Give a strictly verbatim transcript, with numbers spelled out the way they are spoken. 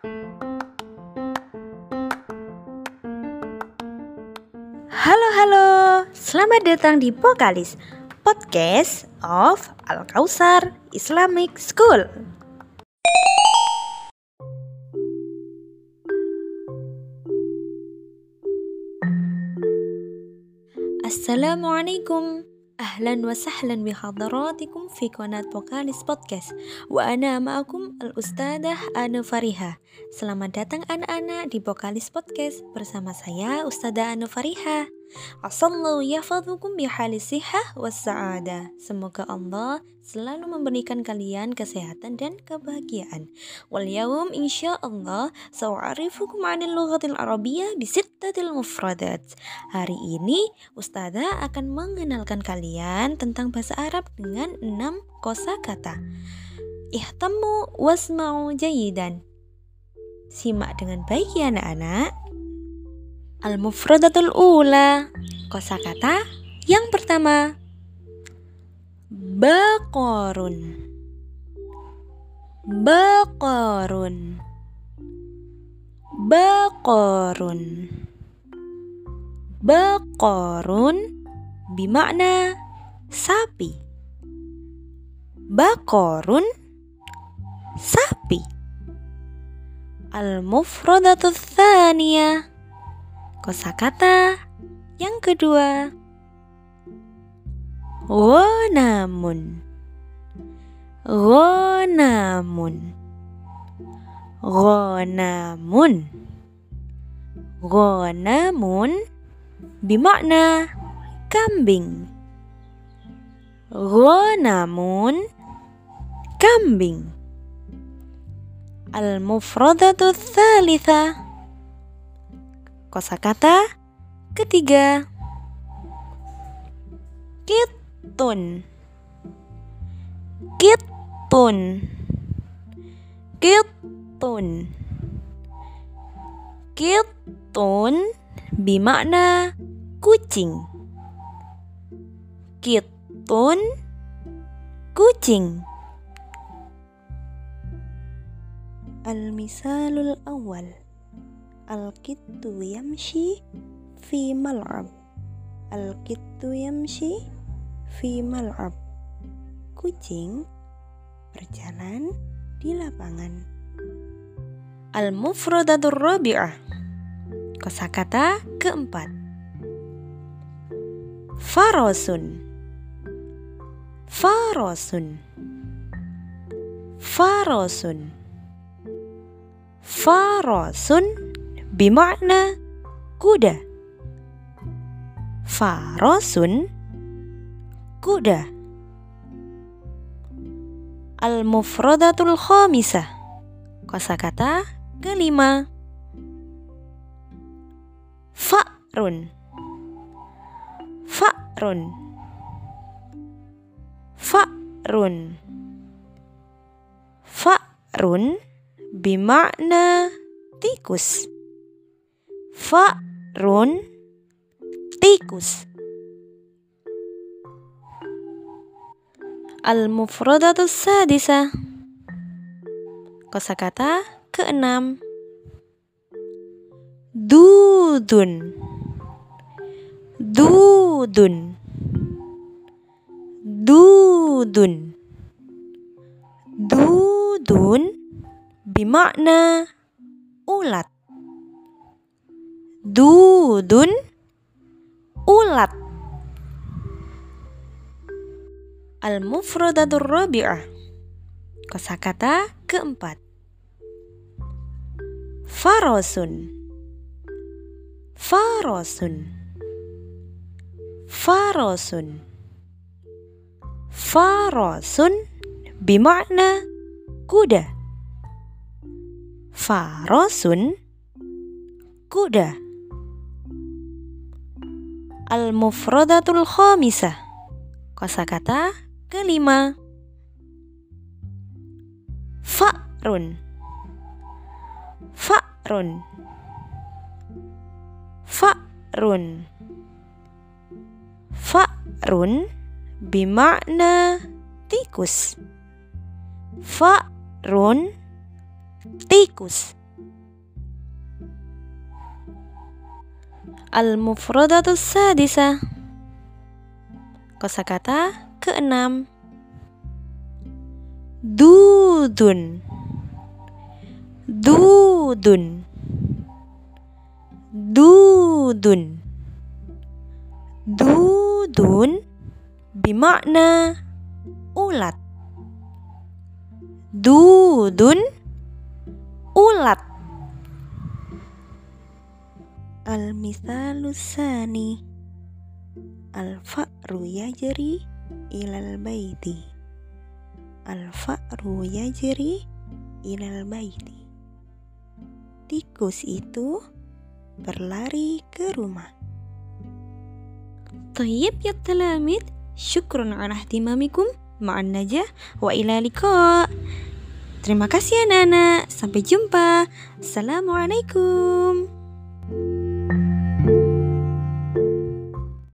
Halo halo, selamat datang di Pokalis, podcast of Al-Kausar Islamic School. Assalamualaikum. Ahlan wa sahlan bihadaratikum fi qanat Pokalis Podcast. Wa ana ma'akum al-ustadzah Anu Fariha. Selamat datang anak-anak di Pokalis Podcast bersama saya Ustadzah Anu Fariha. Asallahu yahfadzukum bihali sihah was sa'adah. Semoga Allah selalu memberikan kalian kesehatan dan kebahagiaan. Wal yaum insyaallah sa'arifukum 'anil lughatil arabiyyah bi sittatil mufradat. Hari ini Ustadzah akan mengenalkan kalian tentang bahasa Arab dengan enam kosakata. Ihtammu wasma'u jayidan. Simak dengan baik ya anak-anak. Al-mufradatul ula, kosakata yang pertama, baqarun. Baqarun. Baqarun. Baqarun bermakna sapi. Baqarun sapi. Al-mufradatul tsaniyah, kosakata yang kedua, ghanamun. Ghanamun. Ghanamun. Ghanamun bermakna kambing. Ghanamun kambing. Al-mufradatul tsalitsah, kosakata ketiga, kitun. Kitun. Kitun. Kitun bermakna kucing. Kitun kucing. Al-misalul awal, Al-kittu yamshi fi mal'ab. Al-kittu yamshi fi mal'ab. Kucing berjalan di lapangan. Al-mufradatur rabi'ah, kosakata keempat, farasun. Farasun. Farasun. Farasun bermakna kuda. Farasun kuda. Al-mufradatul khamisah, kosakata kelima, fa'run. Fa'run. Fa'run. Fa'run bermakna tikus. Fa'run tikus. Al-mufradatus sadisah, kosakata keenam, dudun. Dudun. Dudun. Dudun bermakna ulat. Dudun ulat. Al-mufradatur rabi'ah, kosakata keempat, farasun. Farasun. Farasun. Farasun bermakna kuda. Farasun kuda. Al-mufradatul khamisah, kosakata kelima, fa'run. Fa'run. Fa'run. Fa'run bermakna tikus. Fa'run tikus. Al-mufradatus sadisah. Kosakata keenam. Dudun. Dudun. Dudun. Dudun bimakna ulat. Dudun ulat. Al-misalus sani. Al-fa'ru yajri ilal baiti. Al-fa'ru yajri ilal baiti. Tikus itu berlari ke rumah. Tayyib ya talamid, syukran ala ihtimamikum ma'an najah wa ila liqa. Terima kasih anak-anak, sampai jumpa. Assalamualaikum.